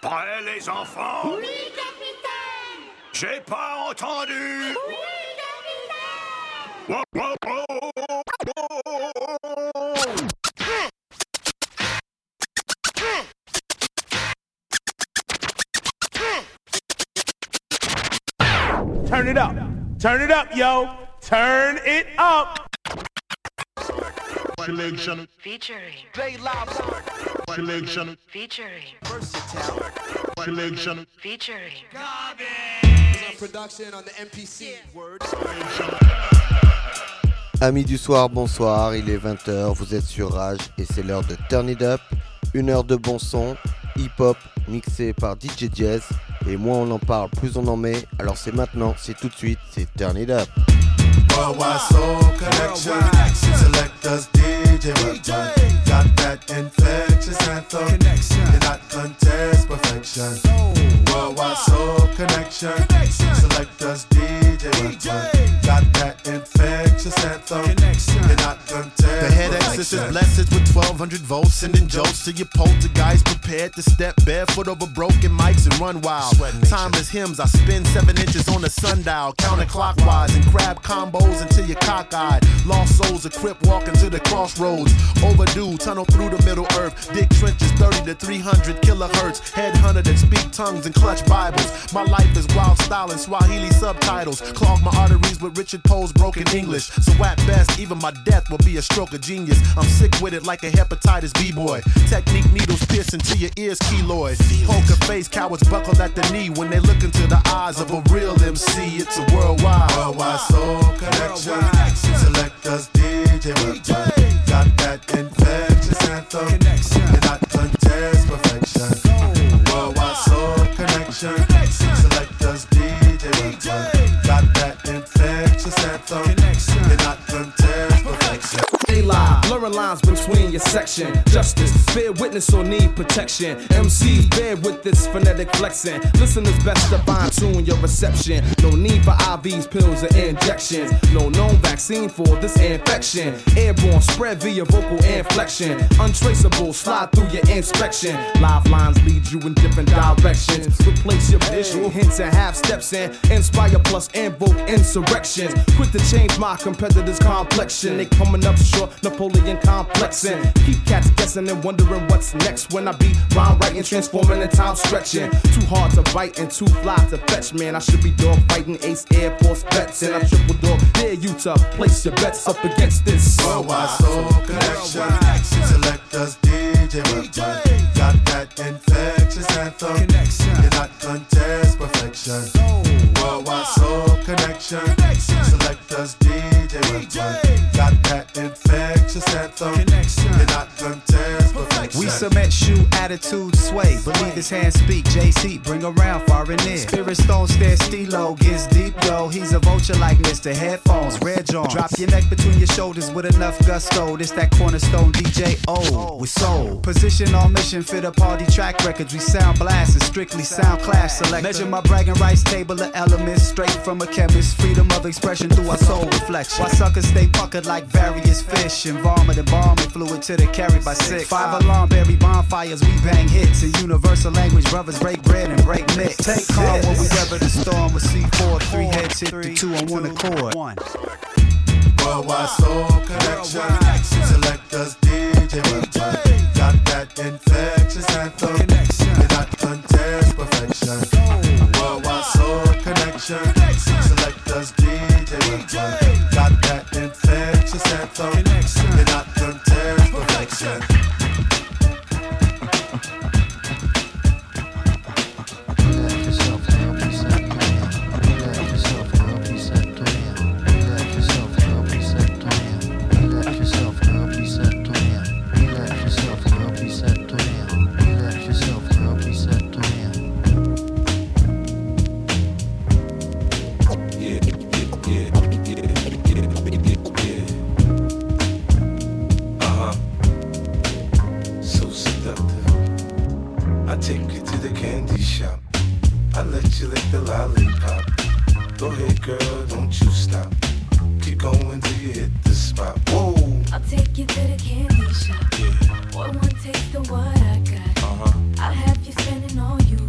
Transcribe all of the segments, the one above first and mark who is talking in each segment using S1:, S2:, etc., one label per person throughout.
S1: Prêts les enfants?
S2: Oui, capitaine!
S1: J'ai pas entendu!
S2: Oui, capitaine!
S3: Turn it up. Turn it up, yo. Turn it up.
S4: Selection.
S5: Featuring.
S4: J Live. Selection.
S5: Featuring.
S4: Versatile. Selection.
S5: Featuring.
S6: Production on the MPC. Word.
S7: Amis du soir, bonsoir, il est 20h, vous êtes sur Rage et c'est l'heure de Turn It Up, une heure de bon son, hip-hop, mixé par DJ Jazz, et moins on en parle, plus on en met, alors c'est maintenant, c'est tout de suite, c'est Turn It Up.
S8: Worldwide Soul Connection, Selectors DJ Rutman, got that infectious anthem, cannot contest perfection. Worldwide Soul Connection, Selectors DJ Rutman, got that infectious anthem, cannot contest perfection.
S9: The head exorcist blesses with 1200 volts, sending jolts to your poltergeist, prepared to step barefoot over broken mics and run wild. Timeless hymns, I spin 7 inches on the sundial, counterclockwise and crab combos until you're cockeyed. Lost souls equipped walking to the crossroads. Overdue, tunnel through the middle earth. Dig trenches 30 to 300 kilohertz. Headhunter that speak tongues and clutch Bibles. My life is wild style and Swahili subtitles. Clog my arteries with Richard Poe's broken English. So at best, even my death will be a stroke of genius. I'm sick with it like a hepatitis B-boy. Technique needles piercing to your ears, keloid. Poker face, cowards buckled at the knee when they look into the eyes of a real MC. It's a worldwide.
S8: Worldwide Soul Connection, Selectors DJ Rutman, got that infectious anthem, cannot contest perfection. Worldwide Soul Connection, Selectors DJ Rutman, got that infectious anthem, cannot contest perfection.
S10: Stay live, blurring lines between your section. Justice, bear witness or need protection. MCs bear with this phonetic flexing. Listeners best to fine tune your reception. No need for IVs, pills, or injections. No known vaccine for this infection. Airborne, spread via vocal inflection. Untraceable, slide through your inspection. Live lines lead you in different directions. Replace your visual hints and half steps in. Inspire plus invoke insurrections. Quick to change my competitors' complexion. They coming up short, Napoleon complexing. Keep cats guessing and wondering what's next when I be rhyme writing, transforming and time stretching. Too hard to bite and too fly to fetch, man. I should be dog fighting Ace Air Force vets, and I triple dog dare you to place your bets up against this.
S8: Worldwide Soul Connection, Selectors DJ Rutman, got that infectious anthem, cannot contest perfection. Worldwide Soul Connection, Selectors DJ Rutman, got that infectious anthem, cannot contest perfection.
S11: We submit, shoot, attitude, sway. Believe his hands speak, JC, bring around far and near. Spirit stone, stare, stilo, gets deep, yo. He's a vulture like Mr. Headphones, Red Jones. Drop your neck between your shoulders with enough gusto. This that cornerstone DJ O with soul. Position on mission for the party track records. We sound blast and strictly sound clash select. Measure my bragging rights table of elements straight from a chemist. Freedom of expression through our soul reflection. Why suckers stay puckered like various fish. Embalmed and embalming fluid till they carried by 6. 5 alarm berry bonfires, we bang hits. In universal language, brothers break bread and break mix. Take calm when we weather the storm with C4. 3 heads hit the 2 on 1 accord.
S8: Worldwide Soul Connection, Selectors DJ Rutman, got that infectious anthem, cannot contest perfection. Worldwide Soul Connection, Selectors DJ Rutman, got that infectious anthem, cannot contest perfection.
S12: Take you to the candy shop. I let you lick the lollipop. Go ahead, girl, don't you stop. Keep going till you hit the spot. Whoa.
S13: I'll take you to the candy shop.
S12: Yeah.
S13: Boy, one taste of what I got. I'll have you spending all you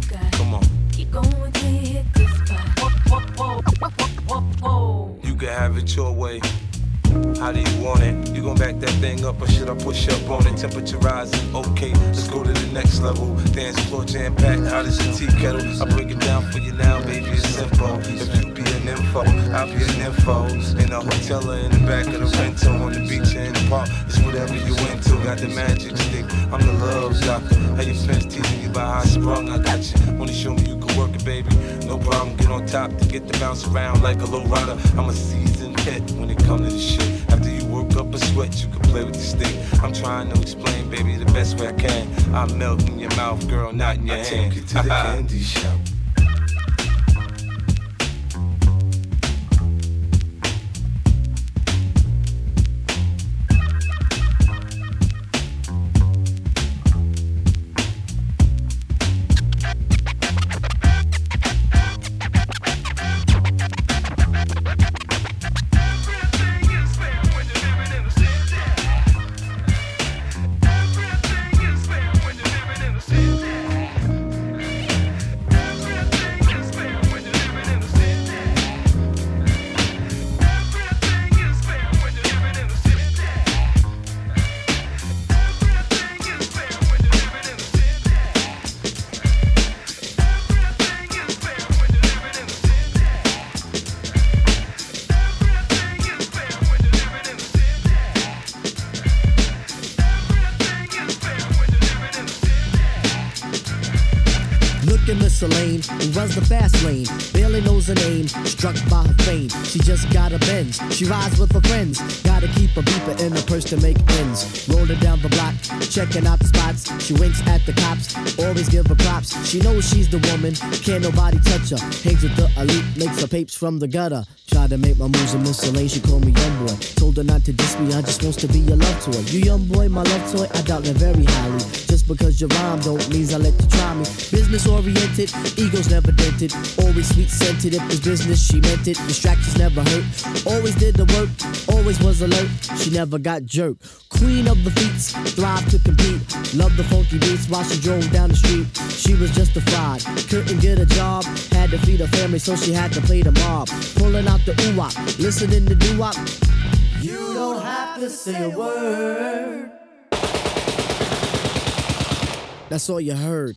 S12: it your way. How do you want it? You gon' back that thing up or should I push up on it? Temperature rising, okay, let's go to the next level. Dance floor jam packed, hot as a tea kettle. I break it down for you now, baby, it's simple. If you be an info, I'll be an info. In a hotel or in the back of the rental, on the beach or in the park, it's whatever you into. Got the magic stick, I'm the love doctor. How your friends teasing you about how I sprung, I got you. Wanna show me you can work it, baby? No problem, get on top to get the bounce around like a low rider. I'm a seasoned vet when it comes to this shit. After you work up a sweat, you can play with the stick. I'm trying to explain, baby, the best way I can. I melt in your mouth, girl, not in your hand. Take you to the candy shop.
S5: Lane, who runs the fast lane, barely knows her name, struck by her fame. She just got a Benz, she rides with her friends. Gotta keep a beeper in her purse to make ends. Rolling down the block, checking out the spots. She winks at the cops, always give her props. She knows she's the woman, can't nobody touch her. Hangs with the elite, makes her papes from the gutter. Tried to make my moves in Miss Lane, she called me young boy. Told her not to diss me, I just wants to be your love toy. You young boy, my love toy, I doubt that very highly. Just because you rhyme don't mean I let you try me. Business oriented, egos never dented. Always sweet scented, if it's business she meant it. Distractions never hurt, always did the work. Always was alert, she never got jerked. Queen of the feats, thrive to compete. Loved the funky beats while she drove down the street. She was justified, couldn't get a job. Had to feed her family so she had to play the mob. Pulling out the ooh-wop, listening to doo-wop. You don't have to say a word. That's all you heard.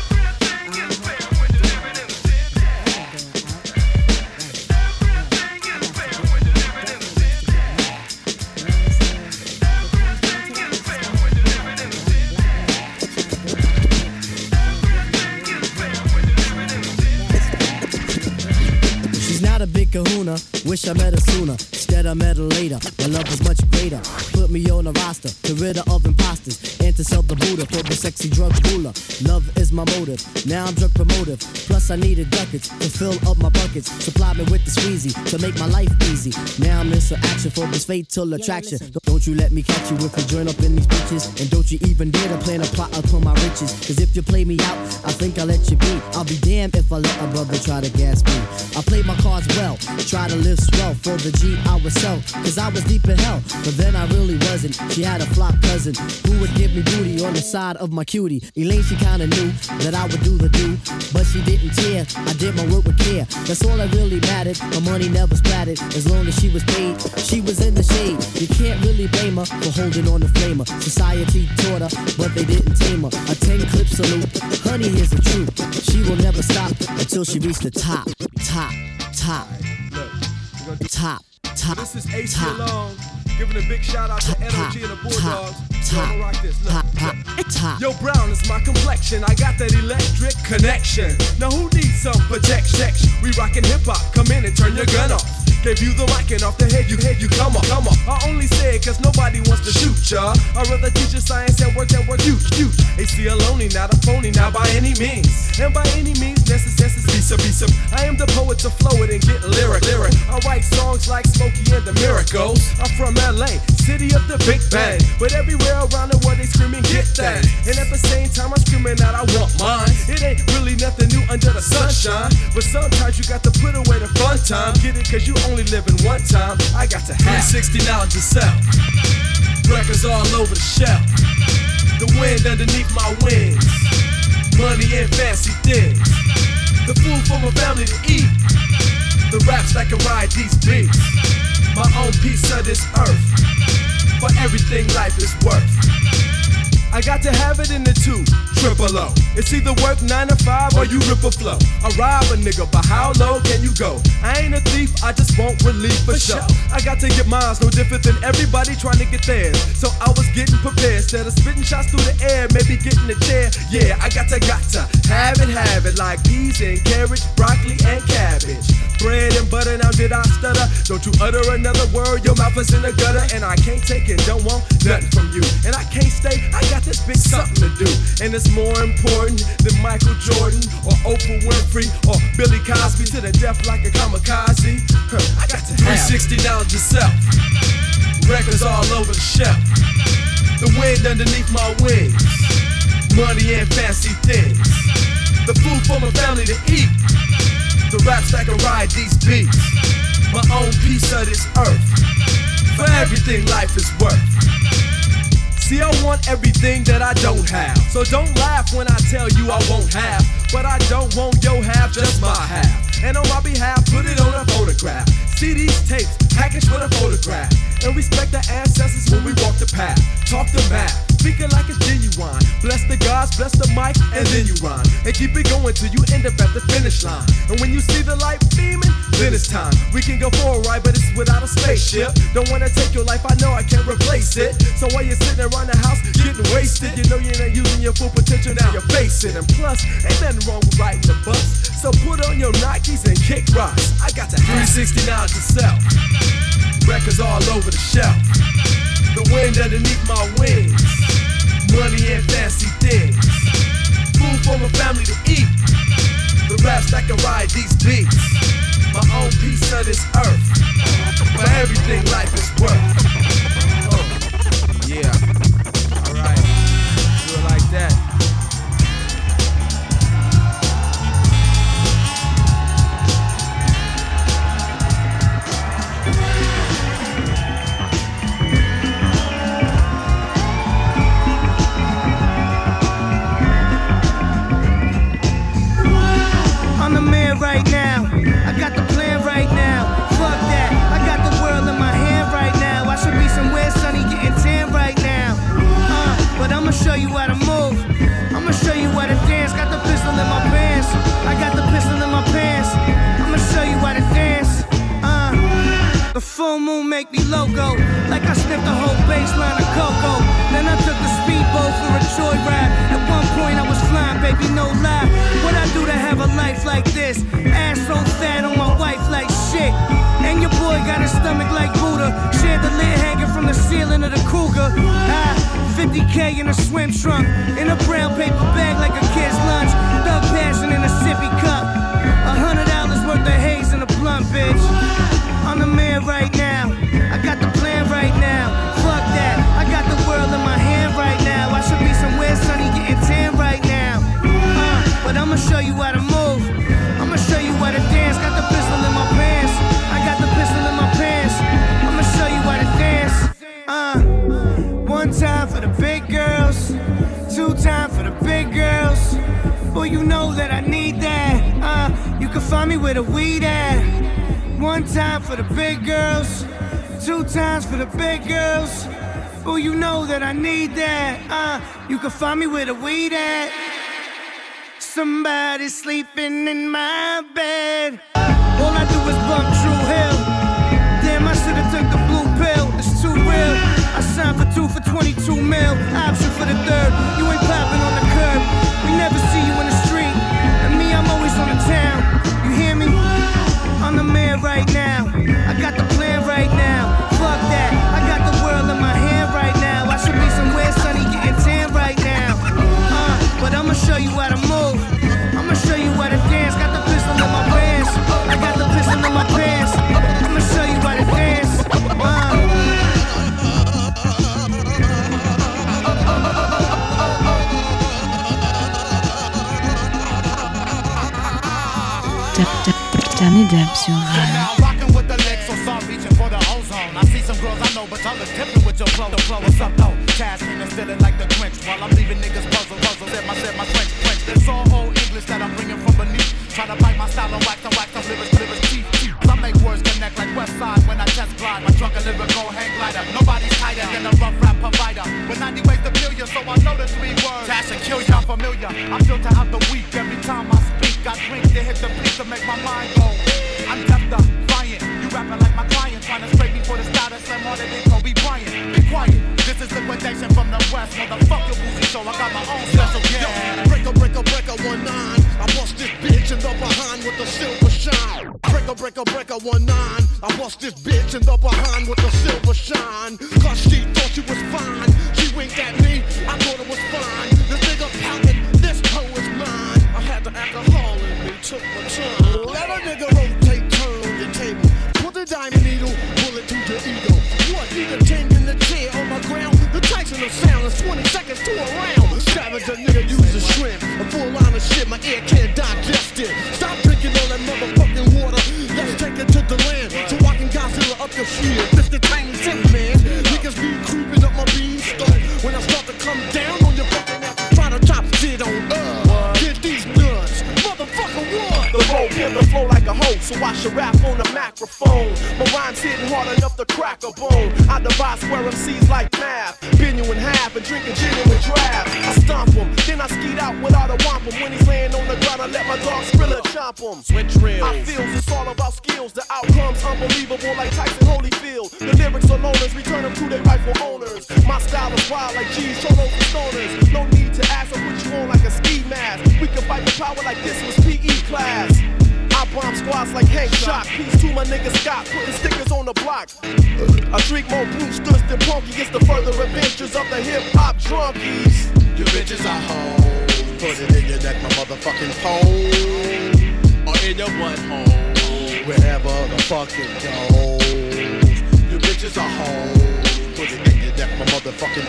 S5: A big kahuna, wish I met her sooner. Instead I met her later, my love was much greater. Put me on a roster, to rid her of imposters. And to sell the Buddha for the sexy drug ruler. Love is my motive, now I'm drug promotive. Plus I needed ducats to fill up my buckets. Supply me with the squeezy to make my life easy. Now I'm in some action for this fatal attraction. Don't you let me catch you if you join up in these bitches. And don't you even dare to plan a plot upon my riches. Cause if you play me out, I think I'll let you be. I'll be damned if I let a brother try to gas me. I play my cards well, try to live swell for the G I would sell. Cause I was deep in hell, but then I really wasn't. She had a flop cousin who would give me booty on the side of my cutie. Elaine, she kinda knew that I would do the do, but she didn't care. I did my work with care, that's all that really mattered. My money never splattered, as long as she was paid. She was in the shade, you can't really blame her for holding on the flamer. Society taught her, but they didn't tame her. A 10-clip salute, honey, here's the truth. She will never stop until she reached the top. Top.
S10: This is AC Alone, giving a big shout out to NOG and the Bulldogs. I'ma rock this. Look. Yo, brown is my complexion. I got that electric connection. Now who needs some protection? We rockin' hip hop. Come in and turn your gun off. Gave you the mic and off the head you come on. I only say it cause nobody wants to shoot ya. I'd rather teach you science and work you. AC Alone, not a phony, now by any means. And by any means necessary, be some. I am the poet to flow it and get lyric. I write songs like Smokey and the Miracles. I'm from LA, city of the Big Bang. But everywhere around the world they screaming get that. And at the same time I'm screaming out I want mine. It ain't really nothing new under the sunshine. But sometimes you got to put away the fun time. Get it cause you only live in one time. I got to have 360 knowledge to sell. Records all over the shelf. The wind underneath my wings. Money and fancy things. The food for my family to eat. The raps that can ride these beats. my own piece of this earth. For everything life is worth. I got to have it in the 2-triple-O. It's either work 9 to 5 or you rip a flow. I rob a nigga, but how low can you go? I ain't a thief, I just want relief for sure. I got to get mine, no different than everybody trying to get theirs. So I was getting prepared, instead of spitting shots through the air, maybe getting a chair. Yeah, I got to have it like peas and carrots, broccoli and cabbage. Bread and butter, now did I stutter? Don't you utter another word, your mouth is in the gutter. And I can't take it, don't want nothing from you. And I can't stay, I got this big something to do. And it's more important than Michael Jordan or Oprah Winfrey or Billy Cosby to the death like a kamikaze. I got to have 360 down yourself. Records all over the shelf. The wind underneath my wings. Money and fancy things. The food for my family to eat. The raps that can ride these beats. My own piece of this earth. For everything life is worth. See, I want everything that I don't have. So don't laugh when I tell you I won't have. But I don't want your half, just my half. And on my behalf, put it on a photograph. See these tapes, packaged with a photograph. And respect the ancestors when we walk the path. Talk the math, speaking like it's genuine. Bless the gods, bless the mic, and then you rhyme. And keep it going till you end up at the finish line. And when you see the light beaming, then it's time. We can go for a ride, but it's without a spaceship. Don't wanna take your life, I know I can't replace it. So while you're sitting around the house getting wasted, you know you're not using your full potential, now you're facing. And plus, ain't nothing wrong with riding the bus. So put on your Nikes and kick rocks. I got to 360 now yourself. Records all over the shelf. The wind underneath my wings. Money and fancy things. Food for my family to eat. The raps that can ride these beats. My own piece of this earth. For everything life is worth. Yeah. Alright. Do it like that.
S6: Right now, I got the plan right now. Fuck that, I got the world in my hand right now. I should be somewhere sunny getting tan right now. But I'ma show you how to move. I'ma show you how to dance. Got the pistol in my pants. I got the pistol in my pants. I'ma show you how to dance. The full moon make me loco, like I sniffed the whole baseline of cocoa. Then I took the speedboat for a joyride. At one point I was flying, baby, no lie. What I do to have a life like this? Ass so fat on my wife like shit. And your boy got a stomach like Buddha. Shared the lid hanging from the ceiling of the Cougar. 50K in a swim trunk, in a brown paper bag like a kid's lunch. Thug passion in a sippy cup. $100 worth of haze in a blunt, bitch. I'm the man right now. I got the plan right now. Fuck that. I got the world in my hand right now. I should be somewhere sunny getting tan right now. But I'ma show you how to move. I'ma show you how to dance. Got the pistol in my pants. I got the pistol in my pants. I'ma show you how to dance. One time for the big girls. Two time for the big girls. Boy, you know that I need that. You can find me where the weed at. One time for the big girls, two times for the big girls. Oh, you know that I need that. You can find me where the weed at. Somebody sleeping in my bed. All I do is bump True Hill. Damn, I should've took the blue pill. It's too real. I signed for 2 for 22 mil. Option for the third. You ain't popping on the curb. We never see you in the street. And me, I'm always on the town. You hear me? I'm the man right now. I got the plan right now. Fuck that. I got the world in my hand right now. I should be somewhere sunny getting tan right now. But I'ma show you how to move. I'ma show you how to dance. Got the pistol in my pants. I got the pistol in my pants. I'ma show you how to dance.
S13: Danny Deb sur
S14: Now rockin' with the legs, so start reaching for the ozone. I see some girls I know, but y'all are different with your flow. What's up though? Tasking and feeling like the Grinch while I'm leaving niggas puzzle. Said my French. It's all old English that I'm bringing from beneath. Try to bite my style and wax, lyrics, teeth. I make words connect like West Side when I test glide. to out the week. Every time I speak, I drink to hit the beat to make my mind go. I'm deaf to crying. You rapping like my client, trying to scrape me for the style that slam harder than Kobe Bryant. Be quiet. This is liquidation from the west. Motherfuck your boozy show. I got my own special yeah.
S9: Breaker, 19. I bust this bitch in the behind with the silver shine. Breaker, 19. I bust this bitch in the behind with the silver shine. Cause she thought she was fine. She winked at me, I thought it was fine. This nigga pouted, this hoe is mine. I had the alcohol in me, took my time. Let a nigga rotate, turn on your table. Put the diamond needle, pull it to your ego. What, need a 10 in the chair on my ground? The Tyson of sound is 20 seconds to a round. Savage a nigga use a shrimp. A full line of shit, my ear can't digest it. Stop drinking all that motherfucking water. Let's take it to the land, so I can Godzilla up your shit. Mr. Tiny Tin Man, niggas be creeping up my beanstalk. When I start to come down on your fucking ass, try to chop shit on get these nuts, motherfucker what?
S15: The road can the flow like a hoe, so I should rap on the microphone. My rhymes hitting hard enough to crack a bone. I divide square MCs like math, bend you in half and drink a genuine draft. I stomp him, then I skeet out without a wampum. When he's laying on the ground, I let my dog Skrilla chomp him.
S9: Switch reels.
S15: I feels it's all about skills. The outcome's unbelievable like Tyson Holyfield. The lyrics are loners, return them to their rightful owners. My style is wild like G's, cholos and stoners. No need to ask, I put you on like a ski mask. We can fight the power like this was PE class. I bomb squads like Hank Shock. Peace to my nigga Scott, putting stickers on the block. I drink more Brewsters than Punky. It's the further adventures of the hip-hop drunkies.
S9: You bitches are hoes. Put it in your neck, my motherfucking pole. Or in your butthole. Wherever the fuck it goes. You bitches are hoes. Put it in your neck, my motherfucking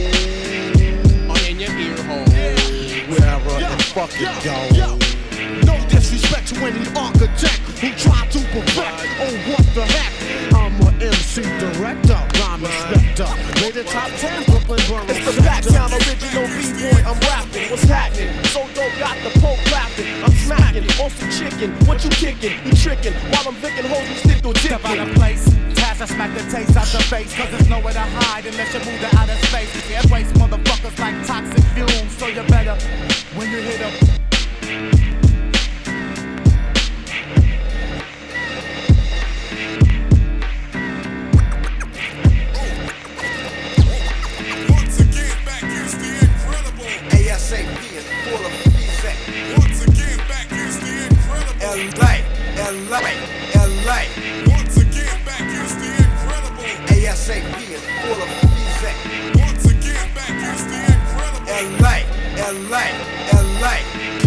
S9: pole. Or in your ear hole. Wherever the fuck it goes. No disrespect to any architect who tried to perfect. Oh, what the heck? I'm a MC director, rhyme inspector. Made the top 10, Brooklyn Borough.
S15: It's the Backtown original B-boy, I'm rapping. What's happening? So dope, got the poke laughing. I'm smacking on some chicken. What you kicking? You tricking. While I'm vicking hoes, you stick to dick.
S14: Step out of place. Pass, I smack the taste out the face. Cause there's nowhere to hide unless you move to outer space. Air waste motherfuckers like toxic fumes. So you better, when you hit them.
S16: ASAP is full of defect. Once again, back is the incredible. LA. Once again, back is the incredible. ASAP is full of defect. Once again, back is the incredible. LA.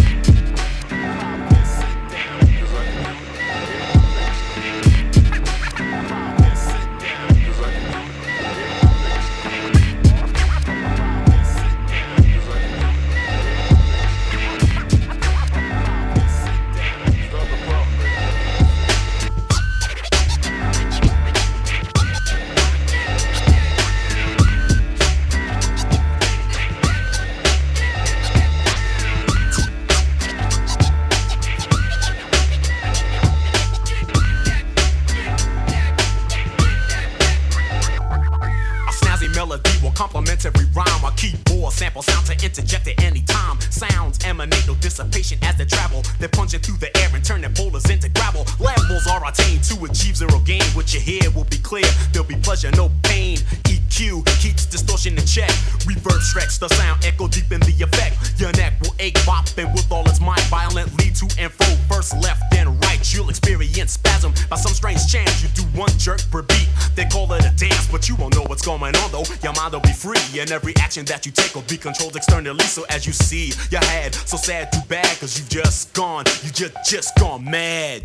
S17: Every rhyme, a keyboard sample sound to interject at any time. Sounds emanate no dissipation as they travel. They're punching through the air and turning boulders into gravel. Levels are attained to achieve zero gain. What you hear will be clear. There'll be pleasure, no pain. EQ keeps distortion in check. Reverb stretch the sound, echo deep in the effect. Your neck will ache, bopping with all its might. Violently to and fro, first left then right. You'll experience spasm by some strange chance. You do one jerk per beat. They call it a dance, but you won't know what's going on though. Your mind will be free. And every action that you take will be controlled externally. So as you see your head, so sad, too bad, cause you've just gone mad.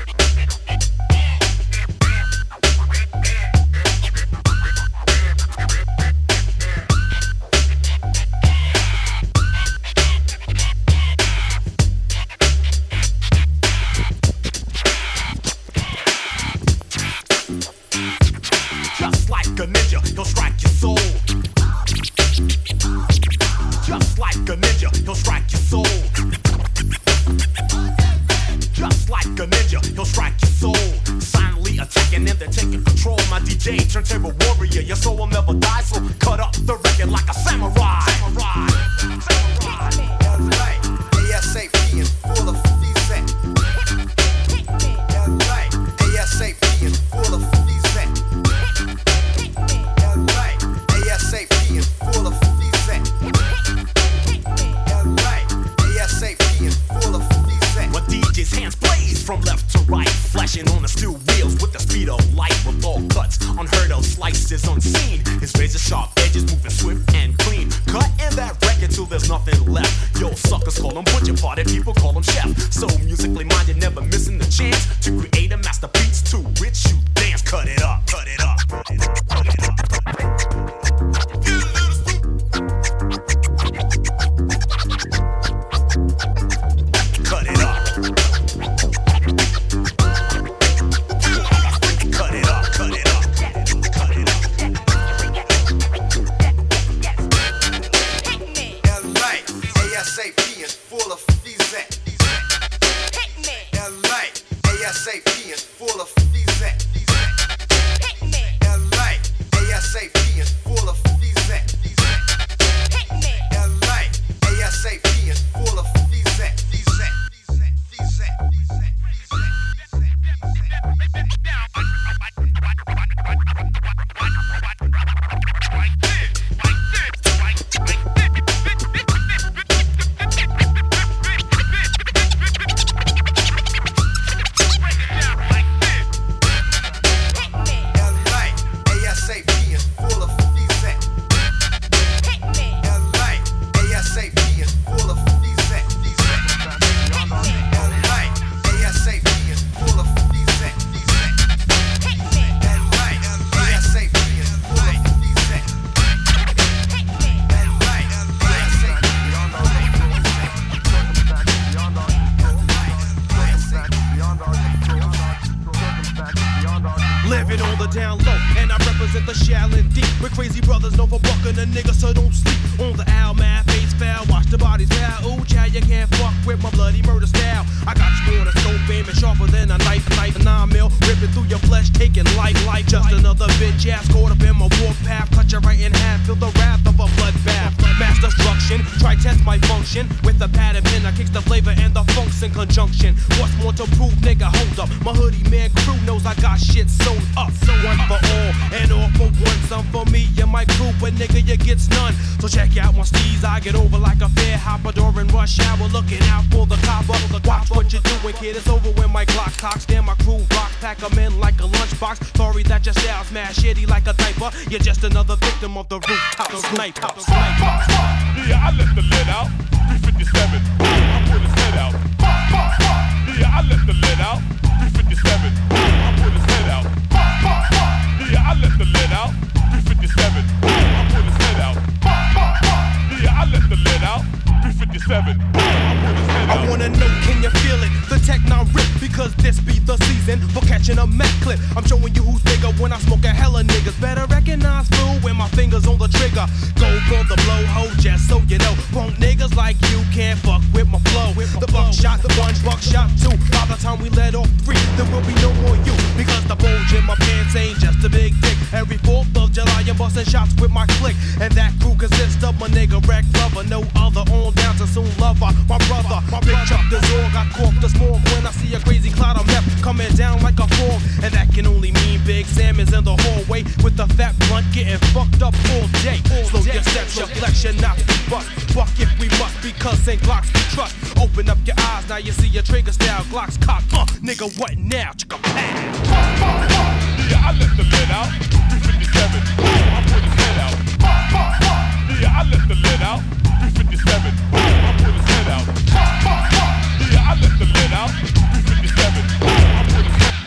S17: Just like a ninja, he'll strike your soul. Just like a ninja, he'll strike your soul. Just like a ninja, he'll strike your soul. Silently attacking and then taking control. My DJ, turntable warrior, your soul will never die. So cut up the record like a samurai. from left to right, flashing on the steel wheels with the speed of light, with all cuts unheard of, slices unseen. His razor sharp edges moving swift and clean, cutting that record till there's nothing left. Yo, suckers call him butcher, party people call him chef. So musically minded, never missing the chance to create a masterpiece to which you dance. Cut it up, cut it up, cut it up, cut it up.
S14: You're just another victim of the rooftop sniper. Yeah, I let the lid out. 357. I put his head out. Yeah, I let the lid out. 357. I put his head out. Yeah, I let the lid out. 357. I put his head out. Yeah, I let the lid out. 357.
S10: I wanna know, can you feel it? The Tech-9 rip, because this be the season for catching a Mac clip. I'm showing you who's bigger when I smoke a hella niggas. Better recognize fool when my fingers on the trigger. Go for the blowhole, just so you know. Punk niggas like you can't fuck with my flow. The buckshot, the one buckshot two. By the time we let off 3, there will be no more you. Because the bulge in my pants ain't just a big dick. Every 4th of July I'm busting shots with my clique. And that crew consists of my nigga Wreck Lover. No other on down to Soon Lover. My brother, my big Chuck the Zorg. I cork the smog when I see a crazy cloud of meth coming down like a fog. And that can only mean Big Sam is in the hallway with the fat blunt getting fucked up all day. Slow your steps, your flexion, not be bust. Fuck if we must, because St. Glocks we trust. Open up your eyes, now you see your trigger style. Glocks cock, nigga, what now? Chicka pow.
S14: Yeah, I let the lid out. 357. I put his head out. Yeah, I let the lid out. 357. I put his head out. Yeah, I let the lid out. 357. I put his head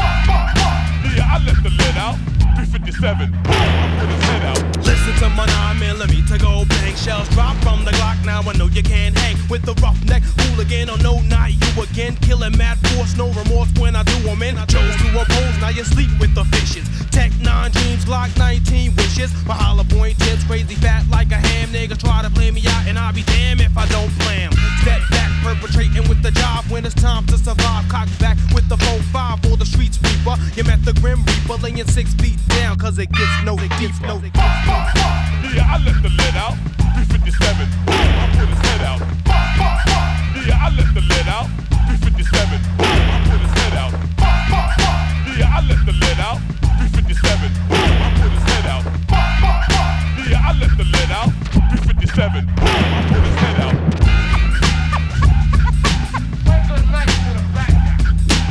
S14: out. Yeah, I let the lid out. 357. I put his head out.
S10: Listen to my 9mm to go bang. Shells drop from the Glock, now I know you can't hang with the roughneck hooligan. Oh no, not you again. Killing mad force, no remorse when I do them in. I chose to oppose, now you sleep with the fishes. Tech-9 dreams, Glock 19 wishes. My hollow point tips, crazy fat like a ham. Niggas try to play me out and I'll be damned if I don't blam. Step back, perpetrating with the job when it's time to survive. Cock back with the 4-5 for the street sweeper. You met the Grim Reaper laying 6 feet down, cause it gets no deep, no deep.
S14: Yeah, I let the lid out. 357. I put his head out. Yeah, I let the lid out. 357. I put his head out. Yeah, I let the lid out. 357. I put his head out. Yeah, I let the lid out. 357. I put his head out.
S18: Good night to the back.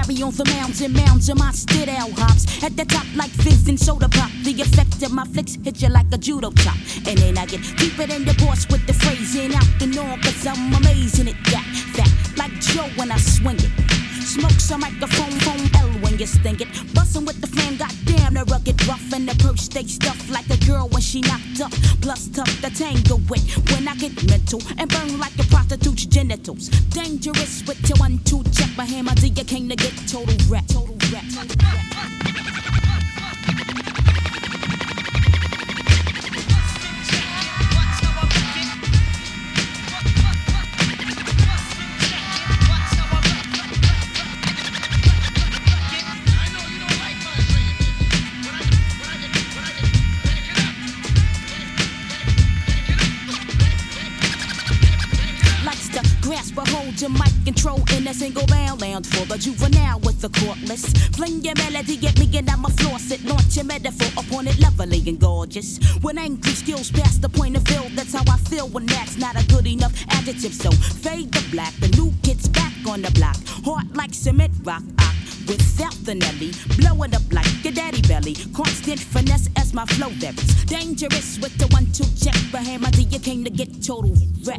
S18: carry on the mounds and mounds of my stid-out hops. At the top like fizz and soda pop. The effect of my flicks hit you like a judo chop. And then I get deeper than the boss with the phrasing out the norm, cause I'm amazing at that. Fat like Joe when I swing it. Smoke some microphone, phone L when you sting it. Bustin' with the flame, goddamn, the rugged rough. And the perch stay stuffed like a girl when she knocked up. Plus tough to tangle with when I get mental. And burn like a prostitute's genitals. Dangerous with your 1-2 check. My hammer to your king to get total wreck. Total wreck. Total wreck. Hold your mic control in a single bound lounge for the juvenile with the courtless. Fling your melody at me and I'ma floss it. Launch your metaphor upon it, lovely and gorgeous. When angry skills past the point of view, that's how I feel when that's not a good enough adjective. So fade the black, the new kid's back on the block. Heart like cement rock, without the Nelly. Blow it up like your daddy belly. Constant finesse as my flow varies. Dangerous with the 1-2 check. But hammer till you came to get total wreck.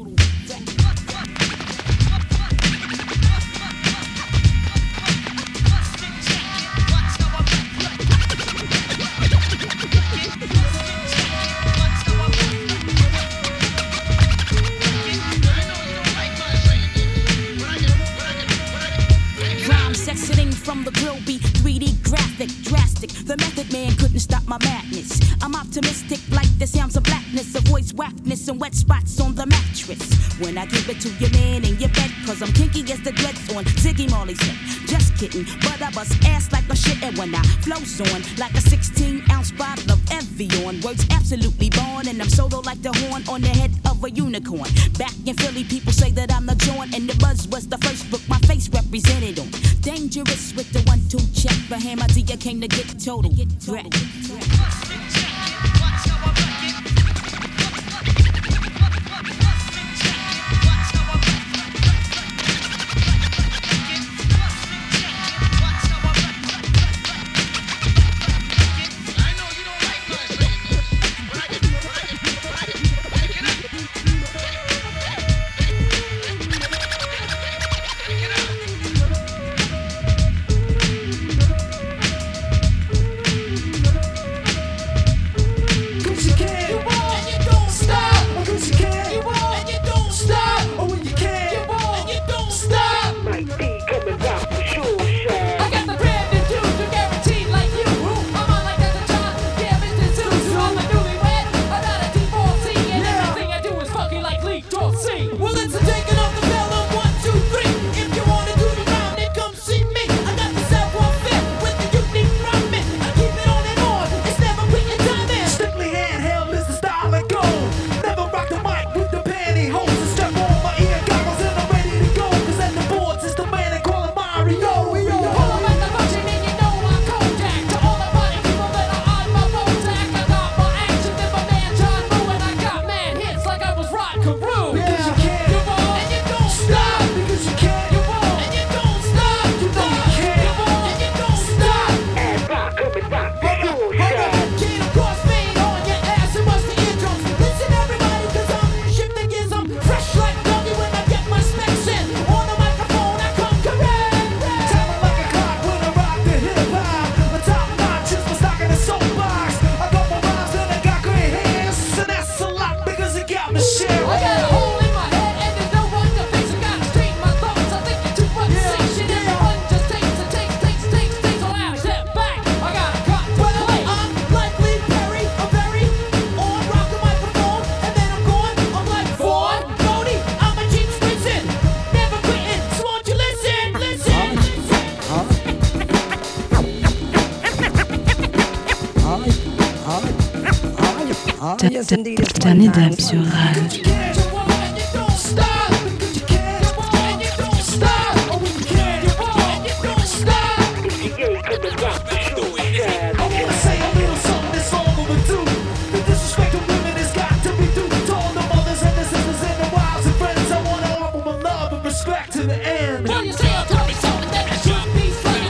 S18: From the grill be 3D graphic, drastic. The method man couldn't stop my madness. I'm optimistic like the sounds of blackness. Avoids whackness and wet spots on the mattress. When I give it to your man in your bed, cause I'm kinky as the dreads on Ziggy Marley's head. Just kidding, but I bust ass like a shit. And when I flows on like a 16-ounce bottle of Evian. Words absolutely born, and I'm solo like the horn on the head of a unicorn. Back in Philly, people say that I'm the joint, and the Buzz was the first book my face represented on. Dangerous with the 1-2 check. The hammer till you came to get total wreck.
S13: Danny Dab sur Rage.
S6: To the end.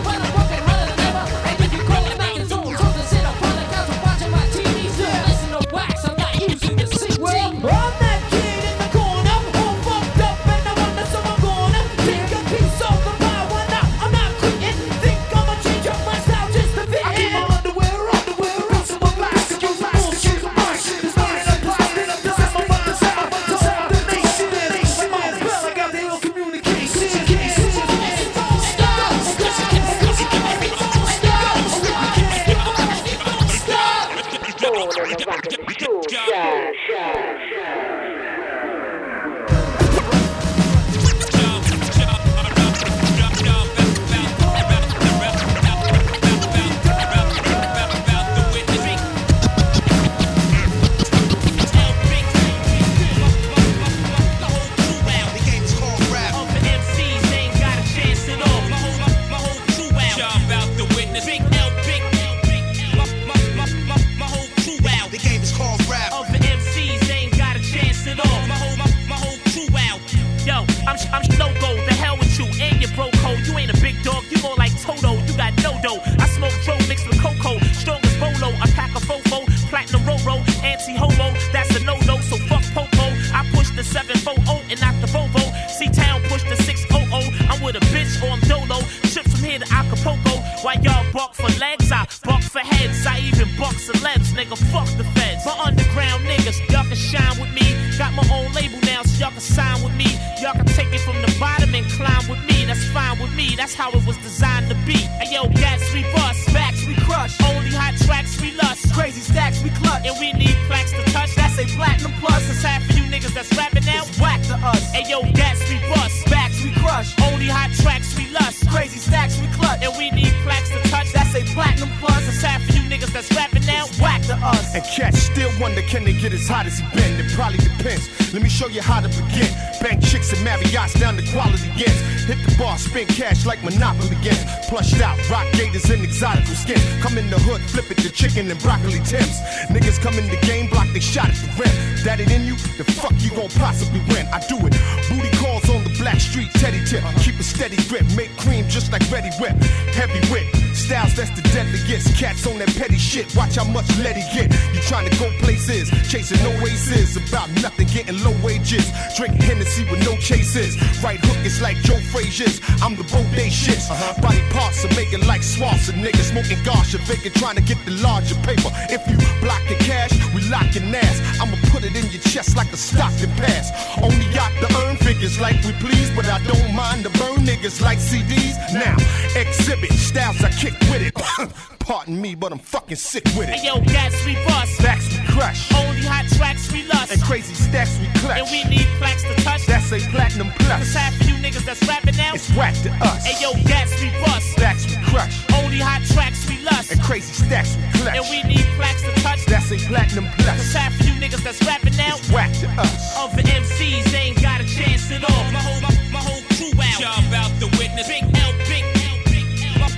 S19: to Acapulco. While y'all buck for legs, I buck for heads. I even buck celebs, nigga, fuck the feds. My underground niggas, y'all can shine with me. Got my own label now, so y'all can sign with me. Y'all can take it from the bottom and climb with me. That's fine with me, that's how it was designed to be. Hey yo, gats we bust, backs we crush. Only hot tracks we lust, crazy stacks we clutch. And we need plaques to touch, that's a platinum plus. It's half of you niggas that's rapping now, it's whack to us. Hey yo, gats we bust, backs we crush. Only hot tracks we lust, crazy stacks we clutch. And we need plaques to touch, that's a platinum plus. It's half of you niggas that's rapping now, it's whack to us.
S20: And cats still wonder, can they get as hot as he been? It probably depends. Let me show you how to begin. Bank chicks and Marriott's down to quality ends. Hit the bar, spend cash like Monopoly ends. Plushed out, rock gators and exotical skins. Come in the hood, flip it to chicken and broccoli Tims. Niggas come in the game, block they shot at the rim. That it in you? The fuck you gon' possibly win? I do it. Booty calls on the black street, teddy tip. Keep a steady grip, make cream just like Ready Whip. Heavy whip, styles that's the deadliest. Cats on that petty shit, watch how much let he get. You trying to go places, chasing no aces. About nothing, getting low wages. Drinking Hennessy with no chases. Right hook is like Joe Frazier's. I'm the Bode shits. Body parts are making like swamps of niggas. Smoking Garsha, vacant, trying to get the larger paper. If you blocking cash, we locking ass. I'ma put it in your chest like a Stockton pass. Only got to earn figures like we please, but I don't mind to burn niggas like CDs. Now, exhibit styles I kick with it. Pardon me, but I'm fucking sick with it.
S19: Hey yo, gats we bust,
S20: backs we crush.
S19: Only hot tracks we lust,
S20: and crazy stacks we clutch.
S19: And we need plaques to touch,
S20: that's a platinum plus.
S19: Cause half of you niggas that's rapping now,
S20: it's whack to us.
S19: Hey yo, gats we bust,
S20: backs we crush.
S19: Only hot tracks we lust,
S20: and crazy stacks we clutch.
S19: And we need plaques to touch,
S20: that's a platinum plus.
S19: Cause half of you niggas that's rapping now,
S20: it's whack to us.
S19: Other MCs ain't got a chance at all. My whole crew out, y'all about to witness. Big L, big L, big L.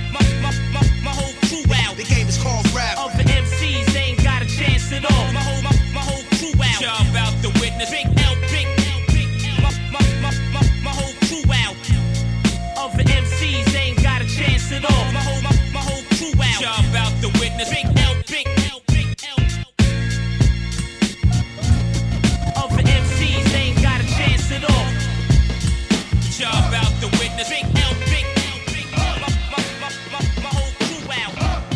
S19: My whole crew out.
S16: The game is called rap.
S19: Other MCs ain't got a chance at all. My whole crew out, y'all about to witness. Big L, big L, big L. My whole crew out. Other MCs ain't got a chance at all. My whole crew out, y'all about to witness. Big L, big L, big L. Other MCs ain't got a chance at all. Y'all about to witness. Big L, big L, big L. My whole crew out.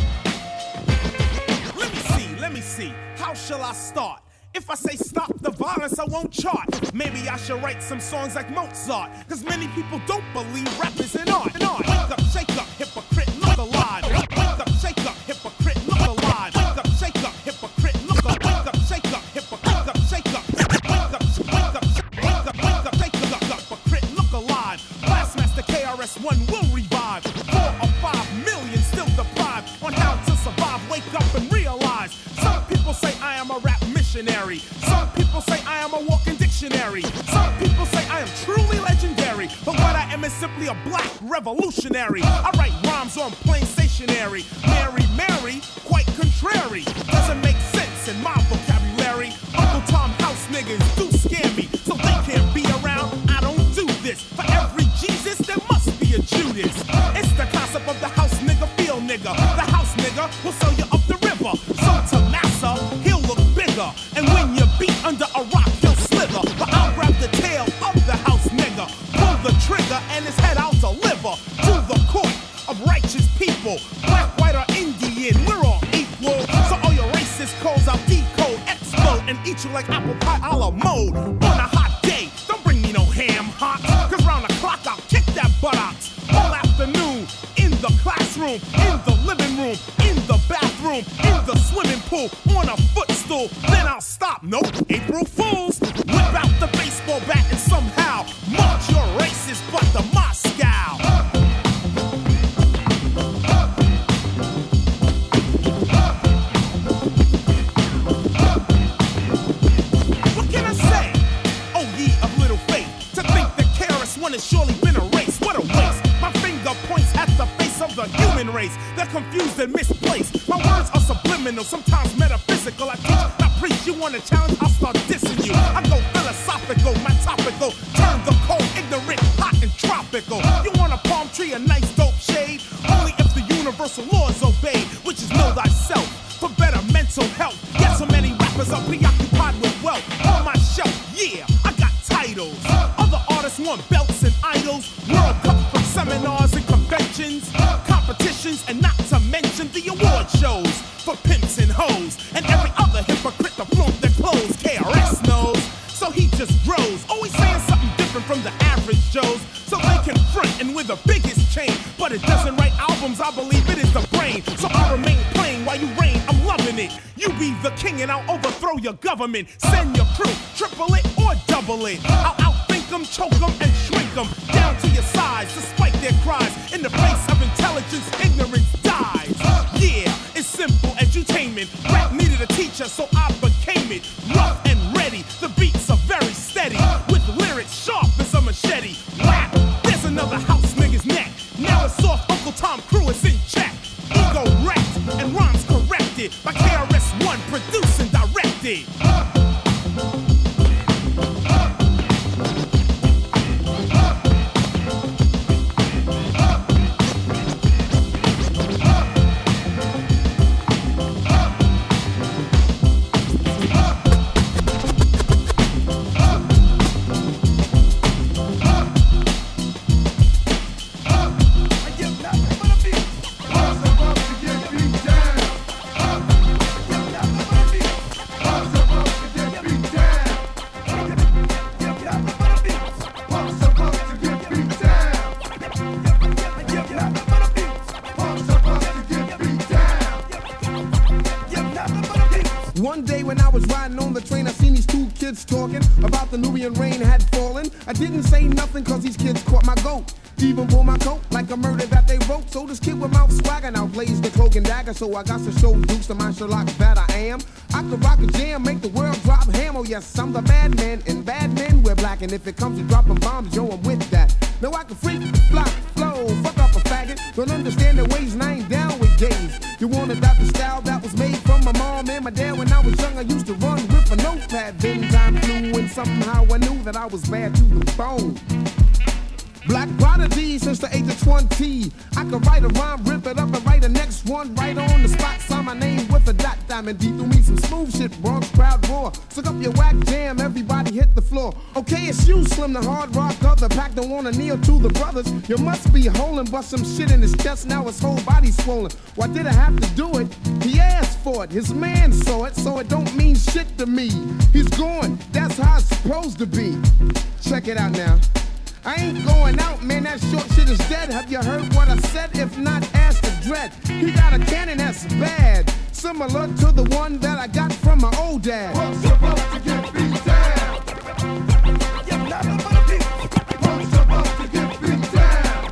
S3: Let me see. How shall I start? If I say stop the violence, I won't chart. Maybe I should write some songs like Mozart. Cause many people don't believe rap is an art. Wake up, shake up, hypocrite, look alive. Wake up, shake up, hypocrite, look alive. Wake up, shake up, hypocrite, look alive. Wake up, shake up, hypocrite, wake up, shake up. Wake up, shake up, hypocrite, look alive. Blastmaster KRS-One will revive. 4 or 5 million still deprived on how to survive. Wake up and realize. Some people say I am a rap missionary. Some people say I am a walking dictionary. Some people say I am truly legendary. But what I am is simply a black revolutionary. I write rhymes on plain stationery. Mary, quite contrary. Doesn't make sense in my vocabulary. Uncle Tom House niggas do scare me. So they can't be around, I don't do this. For every Jesus, there must be a Judas. It's the concept of the house nigga, feel nigga. The house nigga will sell you up the river. So to Massa, he'll look bigger. And when you beat under a rock, he'll slither. But I'll grab the tail of the house nigga, pull the trigger, and his head I'll deliver to the court of righteous people. Black, white, or Indian, we're all equal. So all your racist codes I'll decode, explode, and eat you like apple pie a la mode. On a hot day, don't bring me no ham hocks. Cause round the clock I'll kick that buttocks. All afternoon, in the classroom, in the living room, in the bathroom, in the swimming pool, on a footstool. Then I'll stop, nope, April Fools. Whip out the baseball bat and somehow march your racist butt to Moscow. What can I say? Oh ye of little faith, to think that KRS-One has surely been erased. What a waste. My finger points at the face of the human race. They're confused and misplaced. My words are subliminal, sometimes metaphysical. I teach, I preach. You want a challenge? I'll start dissing you. I go philosophical, my topical. Turn the cold, ignorant, hot and tropical. You want a palm tree, a nice dope shade? Only if the universal law is obeyed, which is know thyself for better mental health. Yet so many rappers are preoccupied with wealth. On my shelf, yeah, I got titles. Other artists want belts and idols. World Cup from seminars and conventions. promotions, and not to mention the award shows for pimps and hoes, and every other hypocrite to flaunt their clothes. KRS knows, so he just grows, always saying something different from the average Joes, so they can front and with the biggest chain. But it doesn't write albums, I believe it is the brain. So I remain playing while you reign, I'm loving it. You be the king and I'll overthrow your government. Send your crew, triple it or double it. I'll outthink them, choke them, and shrink them down to your size, despite their cries. In the place of intelligence, ignorance dies. Yeah, it's simple edutainment. Rap needed a teacher, so I became it. Rough and ready, the beats are very steady, with lyrics sharp as a machete. Rap, there's another house nigga's neck. Now it's off, Uncle Tom Crew is in check. Ego wrecked and rhymes corrected by KRS-One, produced and directed.
S21: One day when I was riding on the train, I seen these two kids talking about the Nubian rain had fallen. I didn't say nothing cause these kids caught my goat. Even pull my coat like a murder that they wrote. So this kid with mouth swagger now plays the cloak and dagger. So I got to show Dukes to my Sherlock that I am. I could rock a jam, make the world drop ham. Oh yes, I'm the bad man, and bad men wear black. And if it comes to dropping bombs, yo, I'm with that. Now I can freak, flock, flow, fuck up a faggot. Don't understand the ways and I ain't down with gays. You want to adopt the style that was made from my mom and my dad. When I was young, I used to run with a notepad. Then time flew and somehow I knew that I was bad to the bone. Black prodigy since the age of 20. I could write a rhyme, rip it up, and write the next one right on the spot. Sign my name with a dot. Diamond D threw me some smooth shit. Bronx crowd roar. Suck up your whack jam, everybody hit the floor. Okay, it's you, Slim, the hard rock of the pack. Don't wanna kneel to the brothers. You must be holding, but some shit in his chest. Now his whole body's swollen. Why did I have to do it? He asked for it. His man saw it, so it don't mean shit to me. He's gone. That's how it's supposed to be. Check it out now. I ain't going out, man, that short shit is dead. Have you heard what I said? If not, ask the dread. He got a cannon that's bad, similar to the one that I got from my old dad. What's supposed to get beat down? You're not about to beat. What's supposed to get beat down?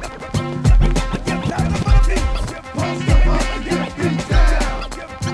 S21: You're not about to beat. What's supposed to get beat down?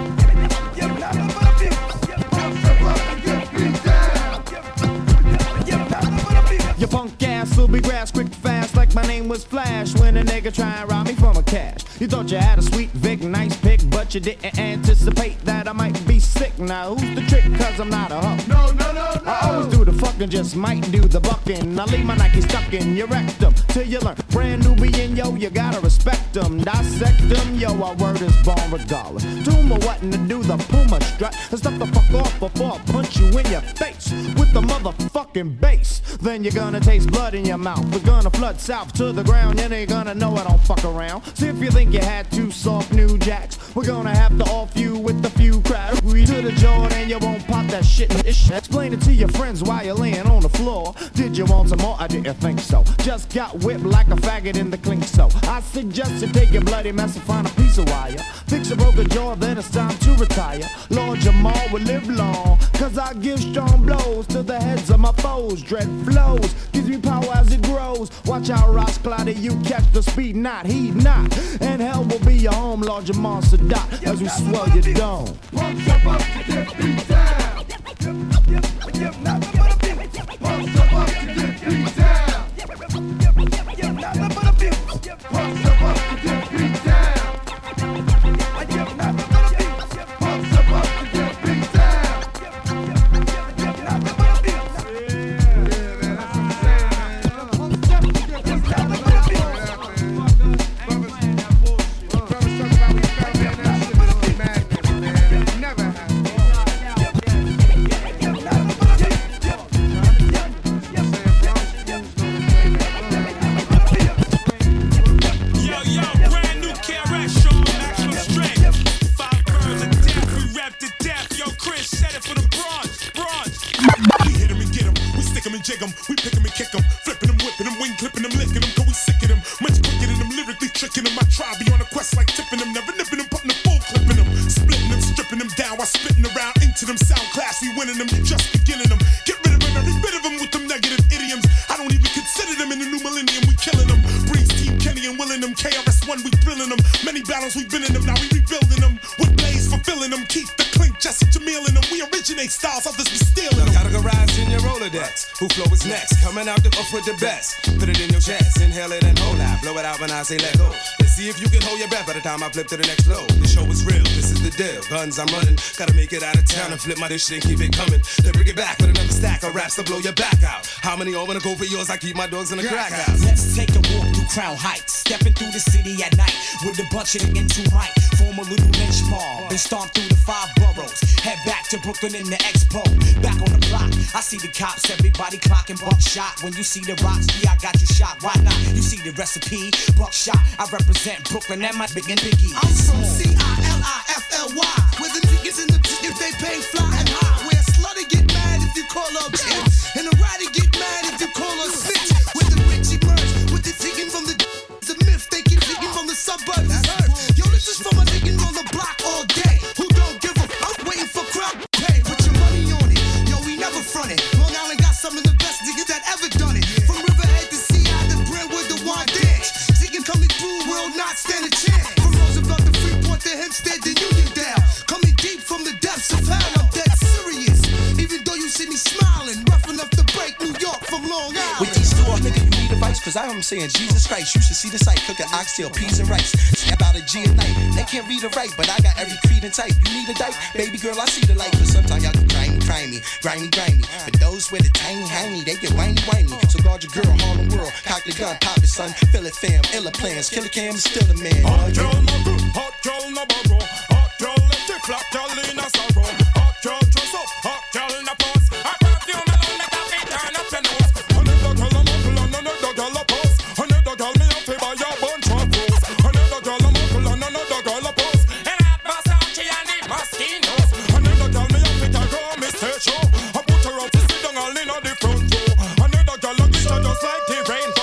S21: You're not about to beat. What's supposed to get beat down? You're not about to beat.
S22: Your punk ass will be grass quick fast like my name was Flash when a nigga try and rob me for my cash. You thought you had a sweet Vic, nice pick, but you didn't anticipate that I might be sick. Now who's the trick? Cause I'm not a hoe.
S21: No.
S22: I always do the fucking, just might do the bucking. I leave my Nike stuck in your rectum till you learn. Brand Nubian, yo, you gotta respect them. Dissect them, yo, our word is born regardless. Tumor wanting to do the Puma strut and step the fuck off before I punch you in your face with the motherfucking bass. Then you're gonna taste blood in your mouth. We're gonna flood south to the ground. You ain't gonna know I don't fuck around. See if you think you had two soft new jacks. We're gonna have to off you with a few crowd. We to the joint and you won't pop that shit in ish. Explain it to your friends while you're laying on the floor. Did you want some more? I didn't think so. Just got whipped like a faggot in the clink. So I suggest you take your bloody mess and find a piece of wire. Fix a broken jaw, then it's time to retire. Lord Jamal will live long, cause I give strong blows to the heads of my foes. Dread flows, gives me power as it grows. Watch out, Ross Cloudy, you catch the speed, not heed not. And hell will be your home, Lord Jamal Sadat, as we swell your dome.
S21: What's supposed to get beat down? You're not about to beat. What's supposed to get beat down? You're not about to beat. What's supposed to get beat down? You're not about to beat. What's supposed to get beat down? You're not about to beat.
S3: them. We pick them and kick them, flipping them, whipping them, wing clipping them, licking them, cause we sick of them. Much quicker than them, lyrically tricking them. I try be on a quest like tipping them, never nipping them, putting them full clipping them, splitting them, stripping them down while spitting around into them. Sound class, we winning them, just beginning them. Get rid of them, every bit of them with them negative idioms. I don't even consider them in the new millennium. We killing them. Breeze Team Kenny and willing them. KRS-One, we thrilling them. Many battles we've been in them, now we rebuilding them. With Blaze fulfilling them. Keith the Clink, Jesse Jamil in them. We originate styles, others be stealing them.
S1: Categorize in your Rolodex. Who flow is next? Coming out the off with the best. Put it in your chest, inhale it and hold out. Blow it out when I say let go. Let's see if you can hold your breath by the time I flip to the next flow. The show is real, this is the deal. Guns I'm running, gotta make it out of town and flip my dish and keep it coming. Then bring it back with another stack of raps to blow your back out. How many all wanna go for yours? I keep my dogs in the crack house.
S17: Let's take a walk through Crown Heights, stepping through the city at night with a bunch of niggas who might form a little lynch mob and stomp through the 5 boroughs. Head back to Brooklyn in the Expo. Back on the block, I see the cops, everybody clocking buckshot. When you see the rocks, yeah, I got you shot. Why not? You see the recipe, buckshot. I represent Brooklyn and my big and biggie.
S2: I'm from C-I-L-I-F-L-Y, where the niggas and the if they pay fly and high. Where a slutty get mad if you call her a bitch, and a righty get mad if you call her a snitch. Where the rich emerge with the digging from the it's a myth. They keep digging from the suburbs. It's earth. Yo, this is from a nigga on the block all day who don't give a fuck, waiting for crowd pay. Put your money on it. Yo, we never front it. Long Island got some of the best niggas that ever done it. From Riverhead to Sea Isle to Brentwood to One Dance. Ziggin coming through will not stand a chance. From Roosevelt to Freeport to Hempstead to Uniondale. Coming deep from the depths of hell, I'm dead serious. Even though you see me smiling, rough enough to break New York from Long Island.
S23: With these 2 nigga, you need advice, cause I am saying Jesus Christ. You should see the sight, cooking oxtail, peas and rice. About a G a night, they can't read or write, but I got every creed and type. You need a dyke, baby girl, I see the light. But sometimes y'all get grimy. But those with a tiny hiney, they get whiny. So guard your girl, Harlem World, cock the gun, pop it, son. Fill it, fam, illa plans, Killer Cam is still the man.
S3: Hot girl, no good, hot girl, no borrow. Hot girl, let it flop, girl in a sorrow. Hot girl, dress up, hot girl in a pose. I perfume alone, make a fit, turn up your nose. Another girl, I'm uncle, and another girl, a pose. Another girl, me a favor, your bunch of rose. Another girl, I'm uncle, and another girl, a pose. And I Versace and the mosquitoes. Another girl, me a fit, I go, me stage show. I put her out to sit down all in the front row. Another girl, a glitter just like the rainbow.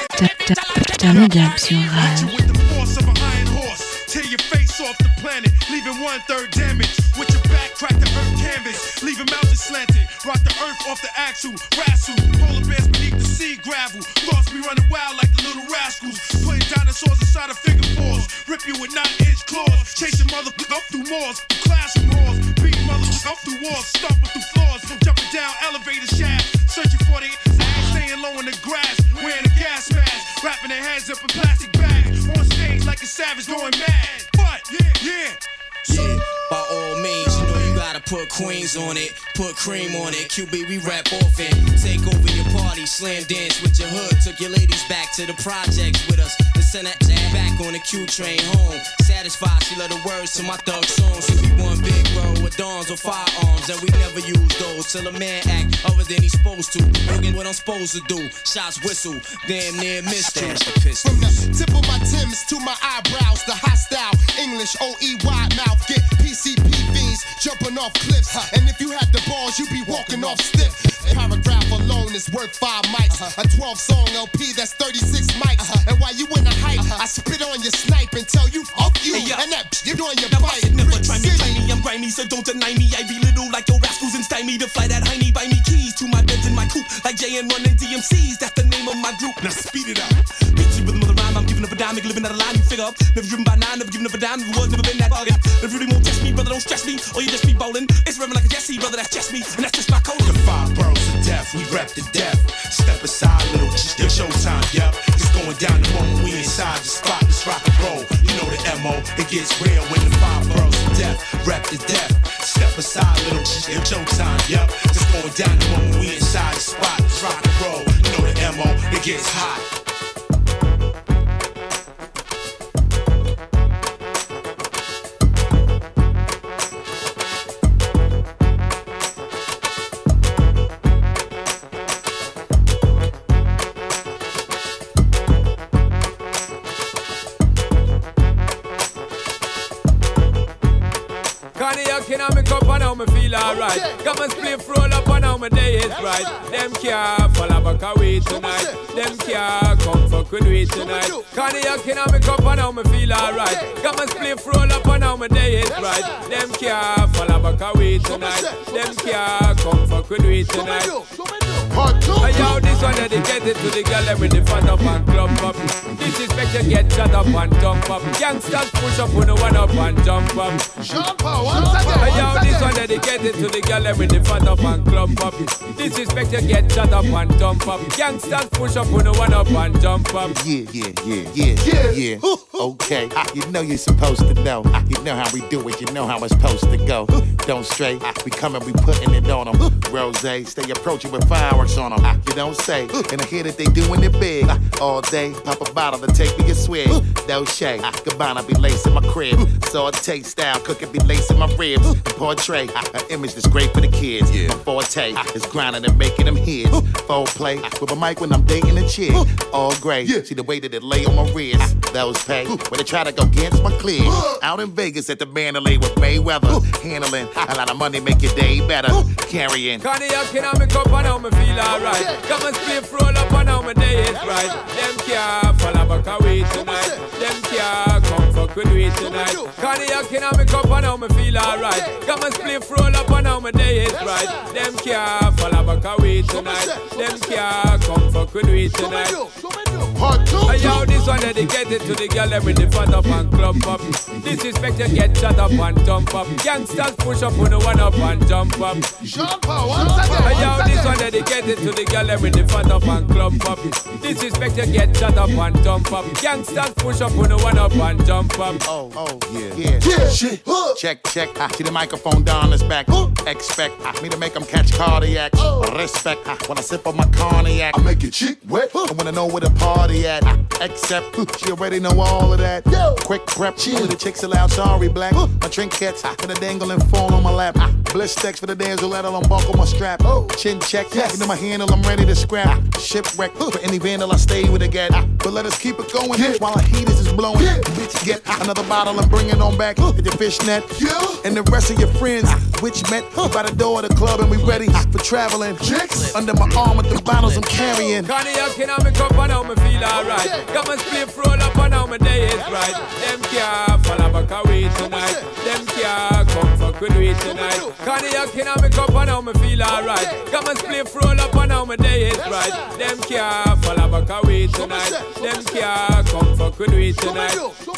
S13: Turn it up sur Rage.
S3: With the force of an iron horse, tear your face off the planet, leaving 1/3 damage. With your back, crack the earth canvas, leaving mountains slanted. Rock the earth off the axle, wrestle. Polar bears beneath the sea gravel. Thoughts be running wild like the little rascals. Putting dinosaurs inside of figure fours. Rip you with 9-inch claws. Chasing motherfuckers up through malls, through classroom halls. Beating motherfuckers up through walls, stomping through floors. Jumping down elevator shafts, searching for the ass, staying low in the grass. Wearing a gas mask, wrapping their heads up in plastic bags. On stage like a savage going mad. But, yeah.
S17: Yeah, by all means, you know you gotta put Queens on it, put cream on it. QB, we rap often. Take over your party, slam dance with your hood. Took your ladies back to the projects with us. And send that back on the Q train home. Satisfied, she love the words to my thug songs. So we one big world with dawns or firearms, and we never use those till a man act other than he's supposed to. Doing what I'm supposed to do. Shots whistle, damn near missed you.
S9: From the tip of my Timbs to my eyebrows, the hostile English OEY mouth get PCP fiends jumping off cliffs. And if you had the balls, you'd be walking off stiff. Paragraph alone is worth 5 mics. A 12-song LP, that's 36 mics. And while you in the hype, I spit on your snipe and tell you fuck you. And that you on your bite.
S17: Never try me, I'm grimy, so don't deny me. I be little like your rascals and stymie to fly that hiney. Buy me keys to my beds in my coupe, like JN running DMCs. That's the name of my group. Now speed it up. Beat you with another rhyme. I'm giving up a dime, living out of line. You figure up. Never driven by 9, never giving up a dime. Never was, never been that bargain. If you really won't test me, brother, don't stress me. Or you just be bowling. It's rhyming like a Jesse, brother. That's just me, and that's just my code.
S3: The 5 boroughs of death, we rep to death. Step aside, little, still showtime, yep. It's going down the moment we inside the spot. Let's rock and roll. You know the MO. It gets real when the 5 boroughs of death, rep to death. Step aside, little, still showtime, yep. It's going down the moment we inside the spot. Let's rock and roll. You know the MO. It gets hot.
S4: Cognac in me cup and now me feel alright. Come and split roll up and now my day is right. Them can't follow back away tonight. Them can't come fuck with we tonight. Cognac in me cup and now me feel alright. Come and split roll up and now my day is right. Them can't follow back away tonight. Them can't come fuck with we tonight. Yo, this one dedicated to the girl with the fat up and club up. Disrespect you get shut up and jump up. Gangsters push up on the one up and jump up.
S21: Jump up, once again.
S4: Yo, this one dedicated to the girl with the fat up and club up. Disrespect you get shut up and jump up. Gangsters push up on the one up and jump up.
S7: Yeah. Okay, you know you're supposed to know. You know how we do it, you know how it's supposed to go. Don't stray, we coming, we putting it on them. Rose, stay approaching with fireworks on them. You don't say, and I hear that they doing it big. All day, pop a bottle to take me a swig. No shade, Gabbana be lacing my crib. Saute style, cooking be lacing my ribs. And portray an image that's great for the kids. My forte is grinding and making them hits. Full play with a mic when I'm dating a chick. All gray, see the way that it lay on my wrist. Those pay when they try to go against my clear. Out in Vegas at the Mandalay with Mayweather. Handling a lot of money, make your day better. Carrying
S4: Cognac in me cup and now me feel alright. Come and split roll up and now my day is right. Them can't follow back away tonight. Them can't come fuck with we tonight. Cognac in me cup and now me feel alright. Come and split roll up and now my day is right. Them can't follow back away tonight. Them can't come fuck with we tonight. Yo, this one dedicated to the girl with the fat up and club up. Disrespect you get shut up and jump up. Gangsters push up on the one up and jump up.
S21: Jump up, once again.
S4: Yo, this one dedicated to the girl with the fat up and club up. Disrespect you get shut up and jump up. Gangsters push up on the one up and jump up.
S7: Yeah. Shit. Check. See the microphone down his back. Expect me to make them catch cardiac. Respect when I sip on my cognac. I make your chick wet. I wanna know where the party at. Except she already know all of that. Quick prep. Only the chicks allowed. Sorry, black. My trinkets for the dangle and fall on my lap. Bliss stacks for the dance. Let them buckle my strap. Chin check. You know my handle. I'm ready to scrap. Shipwreck for any vandal. I stay with a gat. But let us keep it going while the heaters is blowing. Bitch, get another bottle and bring it on back. Hit your fishnet. And the rest of your friends, which met by the door of the club, and we ready for traveling. Chicks under my arm with the bottles I'm carrying.
S4: Cognac in me cup and now me feel alright. Come and split roll up and now my day is right. Them can't follow back away tonight. Them can't come fuck with we tonight. Cognac in me cup and now me feel alright. Come and split roll up and now my day is right. Them can't follow back away tonight. Them can't come fuck with we tonight.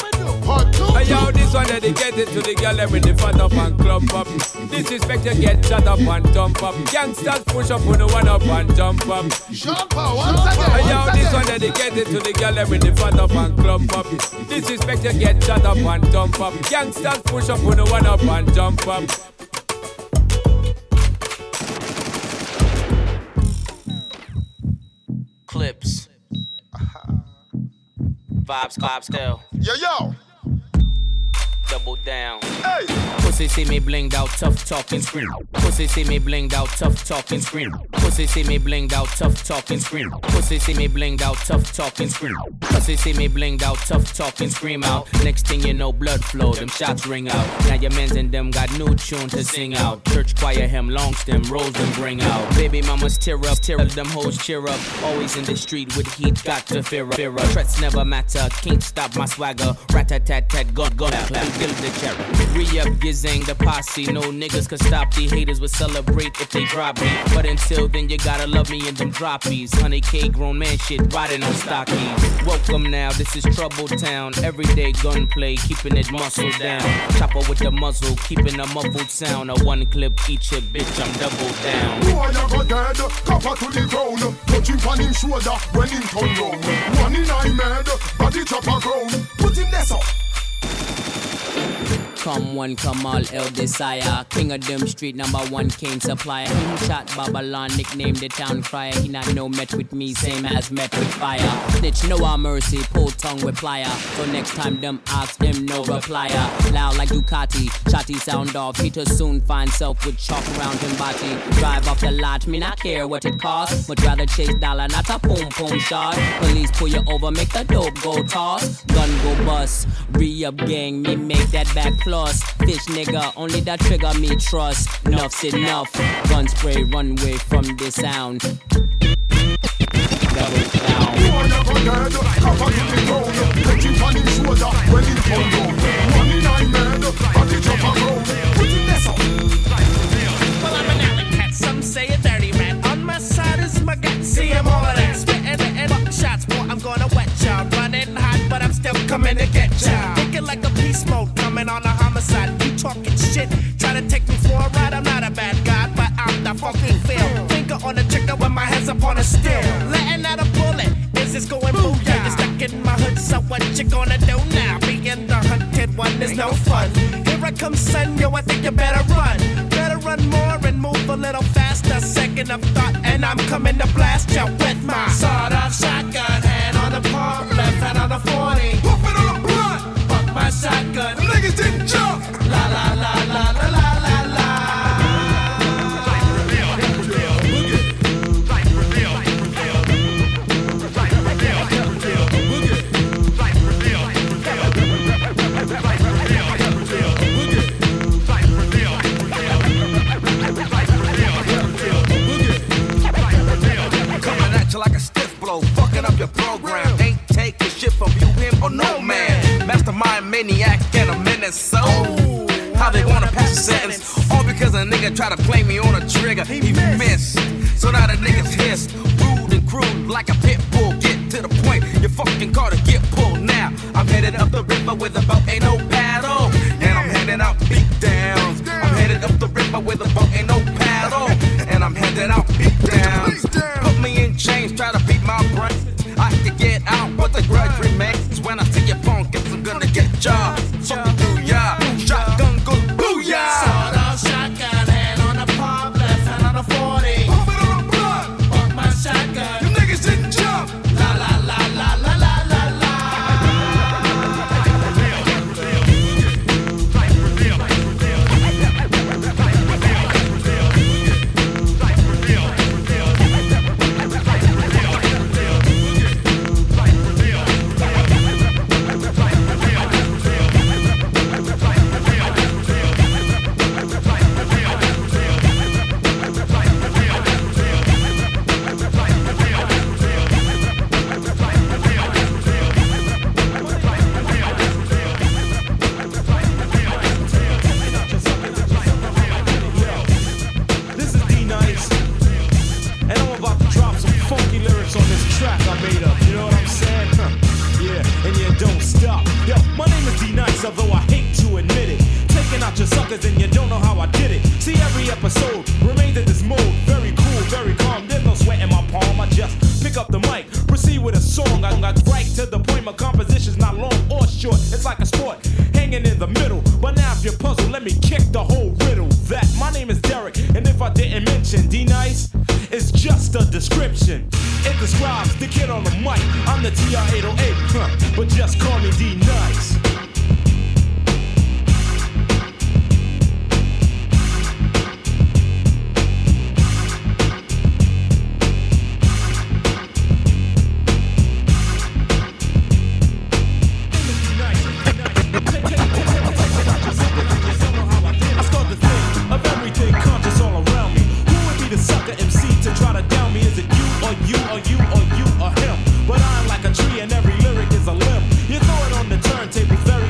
S4: Yo, this one dedicated to the girl with the fat up and club up. Disrespect you get shut up and jump up. Gangsters push up on the one up and jump up.
S21: Jump up, once again.
S4: Yo, this one dedicated to the girl with the fat up and club up. Disrespect you get shut up and jump up. Gangsters push up on the one up and jump up.
S11: Clips. Vibes still.
S21: Yo.
S11: Double down.
S21: Hey.
S11: Pussy see me blinged out, tough talking scream. Pussy see me blinged out, tough talking scream. Pussy see me blinged out, tough talking scream. Pussy see me blinged out, tough talking scream. Pussy see me blinged out, tough talking scream out. Next thing you know, blood flow, them shots ring out. Now your mans and them got new tune to sing out. Church choir hem, long stem, rolls them bring out. Baby mamas tear up, them hoes cheer up. Always in the street with heat, got to fear up. Threats never matter, can't stop my swagger. Rat-tat-tat-tat, gun, clap, kill the cherry. Re-up, Gizang, the posse. No niggas could stop, the haters would celebrate if they drop me. But until then, you gotta love me in them droppies. 100K grown man shit, riding on stockies. Welcome now, this is Trouble Town. Everyday gunplay, keeping it muscle down. Chopper with the muzzle, keeping a muffled sound. A one clip, eat your bitch, I'm double down.
S21: Boy, you go dead, cover to the ground. Touching on him shoulder when him turn round. One in eye mad, body chopper ground. Put him there, so.
S11: Come one, come all, El Desire. King of them street, #1 cane supplier. Him shot Babylon, nicknamed the town crier. He not no met with me, same as met with fire. Snitch, no our mercy, pull tongue with plier. So next time them ask him, no replier. Loud like Ducati, shotty sound off. He too soon find self with chalk around him body. Drive off the lot, me not care what it costs. Much rather chase dollar, not a boom boom shot. Police pull you over, make the dope go toss. Gun go bust, re-up gang, me make that back fly. floss. Fish nigga, only that trigger me trust. Enough's enough. Gun spray, run away from the sound. Double down.
S5: You are never dead, cover to the ground. Put it on his shoulder when it fall down. Money nine mad, but it up around. Put it there, so.
S19: Well, I'm an alley cat, some say a dirty man. On my side is my gut, see him all of that. Spitting and buck shots, boy, I'm gonna wet y'all. Running hot, but I'm still coming to get y'all. Thinking like a beast mode, coming on a homicide. You talking shit, try to take me for a ride. I'm not a bad guy, but I'm the fucking feel. Finger on the trigger with my hands up on the steel. Letting out a bullet, is this going booyah? You're stuck in my hood, so what you gonna do now? Being the hunted one is no fun. Here I come, son, yo, I think you better run. Better run more and move a little faster. Second of thought, and I'm coming to blast you with my sawed-off shotgun. Hand on the palm, left hand on the 40.
S5: Pump it on the blunt.
S19: Fuck my shotgun.
S5: Them niggas didn't jump.
S19: La la la la la la la la.
S8: Like a stiff blow, fucking up your program. Ain't taking shit from you, him, or no man. Mastermind, maniac, and a menace. So, how they wanna pass a sentence? All because a nigga try to play me on a trigger. He missed. So now the niggas hissed. Rude and crude like a pit bull. Get to the point, your fucking car to get pulled. Now, I'm headed up the river with a boat, ain't no paddle. And I'm handing out beat downs. I'm headed up the river with a boat, ain't no paddle. And I'm handing out beat downs. Put me in chains, try to beat my brain. I can get out, but the grudge remains. When I see your phone, guess I'm gonna get ya. Fucking do ya. Shotgun go booyah.
S19: Sawed-off shotgun, hand on the palm, left hand on the 40.
S5: Pump it on the blunt.
S19: Fuck my shotgun.
S5: Them niggas didn't jump.
S19: La la la la la la la la.
S3: This is D-Nice, and I'm about to drop some funky lyrics on this track I made up, you know what I'm saying? Yeah, and you don't stop. Yo, my name is D-Nice, although I hate to admit it. Taking out your suckers and you don't know how I did it. See, every episode remains in this mode. Very cool, very calm, there's no sweat in my palm. I just pick up the mic, proceed with a song. I got right to the point, my composition's not long or short. It's like a sport, hanging in the middle. But now if you're puzzled, let me kick the whole riddle. That my name is Derek, and if I didn't mention D-Nice, it's just a description. It describes the kid on the mic. I'm the TR-808, but just call me D-Nice. I start to think of everything conscious all around me. Who would be the sucker MC to try to down me? Is it you or you or you or you or him? But I'm like a tree and every lyric is a limb. You throw it on the turntable very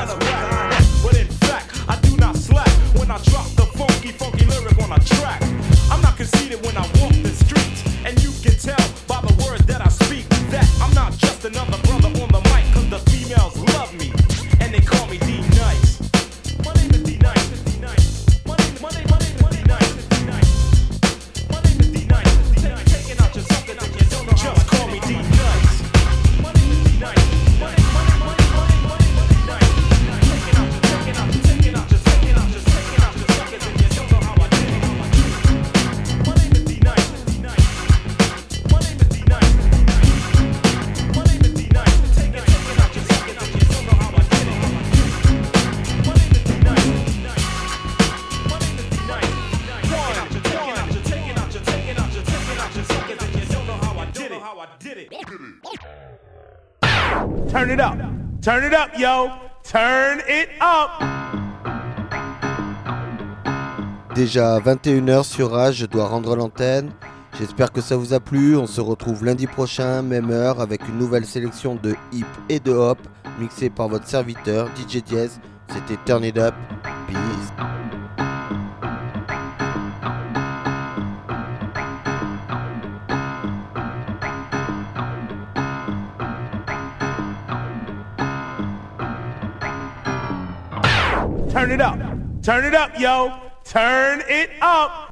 S3: kind of rap. But in fact, I do not slack when I drop the funky, funky lyric on a track. I'm not conceited when I walk the streets, and you can tell by the words that I speak that I'm not just another brother on the mic, cause the females love me, and they call me D-Nice. My name is D-Nice, D-Nice. My name is D-Nice, D-Nice. My name is D-Nice, D-Nice. Taking out your something that you don't know. Just call me D-Nice. My name is D-Nice. My name is D-Nice. Taking out your suckers and you don't know how I did it. My name is D-Nice, D-Nice. My name is D-Nice, D-Nice. My name is D-Nice. Taking out your suckers and you don't know how I did it. My name is D-Nice, D-Nice. My name is D-Nice, D-Nice. Taking out your suckers and you don't know how I did it. Turn it up, yo. Turn it up.
S10: Déjà 21h sur Rage, je dois rendre l'antenne. J'espère que ça vous a plu. On se retrouve lundi prochain, même heure, avec une nouvelle sélection de hip et de hop, mixée par votre serviteur DJ Diez. C'était Turn It Up. Peace.
S3: Turn it up, yo. Turn it up.